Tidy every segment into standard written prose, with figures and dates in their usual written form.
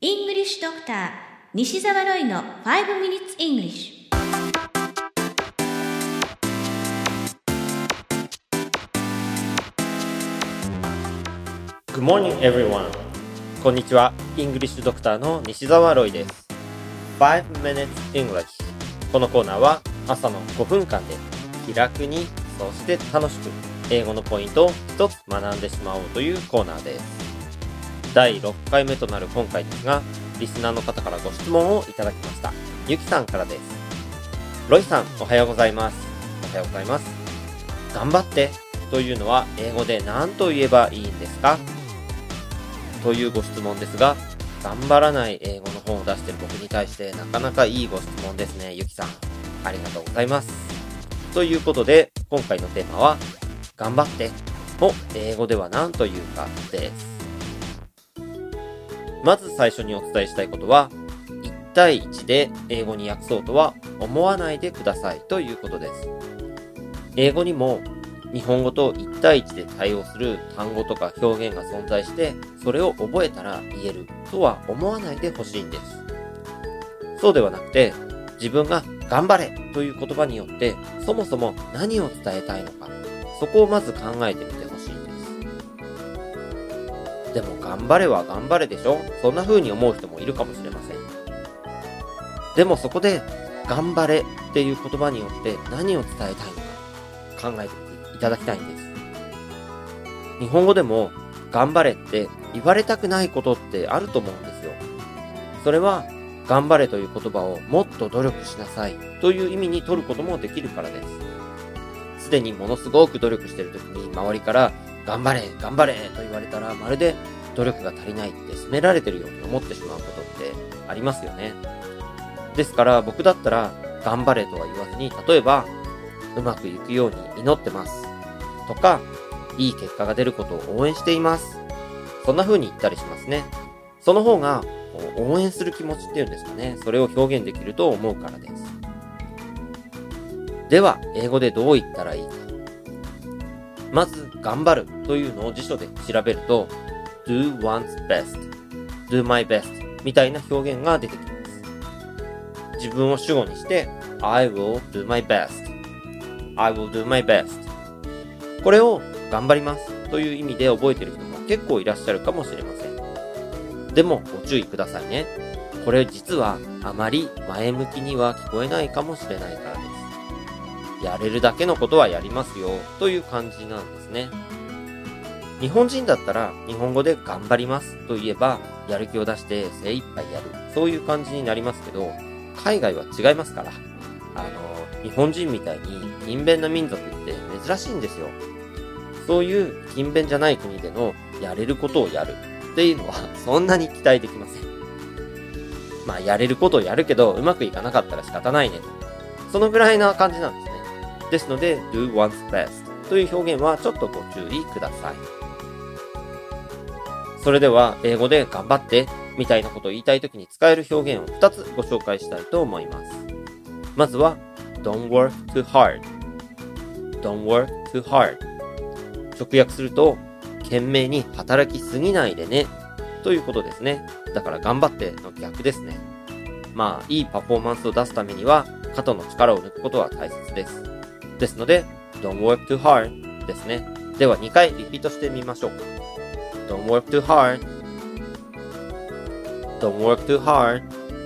English Doctor 西澤ロイの5 Minutes English。 Good morning, everyone. こんにちは。イングリッシュドクターの西澤ロイです。5 Minutes English。このコーナーは朝の5分間で気楽に、そして楽しく英語のポイントを一つ学んでしまおうというコーナーです。第6回目となる今回ですが、リスナーの方からご質問をいただきました。ゆきさんからです。ロイさん、おはようございます。おはようございます。頑張ってというのは英語で何と言えばいいんですか？というご質問ですが、頑張らない英語の本を出している僕に対してなかなかいいご質問ですね、ゆきさん。ありがとうございます。ということで、今回のテーマは、頑張ってを英語では何というかです。まず最初にお伝えしたいことは、1対1で英語に訳そうとは思わないでくださいということです。英語にも日本語と1対1で対応する単語とか表現が存在して、それを覚えたら言えるとは思わないでほしいんです。そうではなくて、自分が頑張れという言葉によって、そもそも何を伝えたいのか、そこをまず考えてみてほしいんです。でも頑張れは頑張れでしょ？そんな風に思う人もいるかもしれません。でもそこで、頑張れっていう言葉によって何を伝えたいのか考えてみていただきたいんです。日本語でも頑張れって言われたくないことってあると思うんですよ。それは頑張れという言葉をもっと努力しなさいという意味に取ることもできるからです。すでにものすごく努力している時に周りから頑張れ頑張れと言われたら、まるで努力が足りないって責められてるように思ってしまうことってありますよね。ですから僕だったら頑張れとは言わずに、例えばうまくいくように祈ってますとか、いい結果が出ることを応援しています、そんな風に言ったりしますね。その方が応援する気持ちっていうんですかね、それを表現できると思うからです。では英語でどう言ったらいいか。まず頑張るというのを辞書で調べると do one's best, do my best みたいな表現が出てきます。自分を主語にして I will do my best, I will do my best、 これを頑張りますという意味で覚えている人も結構いらっしゃるかもしれません。でもご注意くださいね。これ実はあまり前向きには聞こえないかもしれないからです。やれるだけのことはやりますよという感じなんですね。日本人だったら日本語で頑張りますと言えばやる気を出して精一杯やる、そういう感じになりますけど、海外は違いますから。日本人みたいに勤勉な民族って珍しいんですよ。そういう勤勉じゃない国でのやれることをやるっていうのはそんなに期待できません。まあやれることをやるけどうまくいかなかったら仕方ないねと、そのぐらいな感じなんですね。ですので do one's best という表現はちょっとご注意ください。それでは英語で頑張ってみたいなことを言いたいときに使える表現を2つご紹介したいと思います。まずは Don't work too hard, Don't work too hard、 直訳すると懸命に働きすぎないでねということですね。だから頑張っての逆ですね。まあいいパフォーマンスを出すためには肩の力を抜くことは大切です。ですので Don't work too hard ですね。では2回リピートしてみましょうか。 Don't work too hard, Don't work too hard。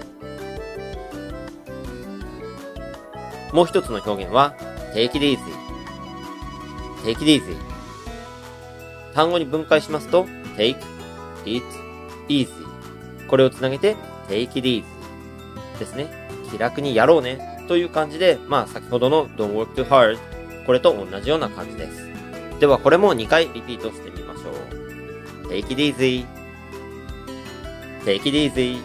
もう一つの表現は Take it easy, Take it easy。 単語に分解しますと Take it easy、 これをつなげて Take it easy ですね。気楽にやろうねという感じで、まあ先ほどの Don't work too hard、 これと同じような感じです。ではこれも2回リピートしてみましょう。 Take it easy, Take it easy。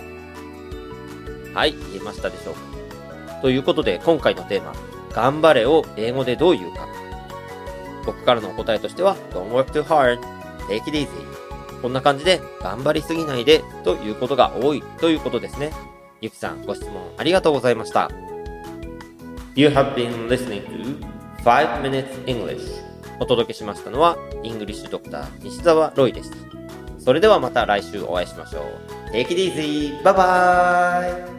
はい、言えましたでしょうか。ということで今回のテーマ、頑張れを英語でどう言うか。僕からのお答えとしては Don't work too hard, Take it easy。 こんな感じで頑張りすぎないでということが多いということですね。ゆきさん、ご質問ありがとうございました。 You have been listening to 5 Minutes English。 お届けしましたのはイングリッシュドクター西澤ロイでした。 それではまた来週お会いしましょう。Take it easy! バイバーイ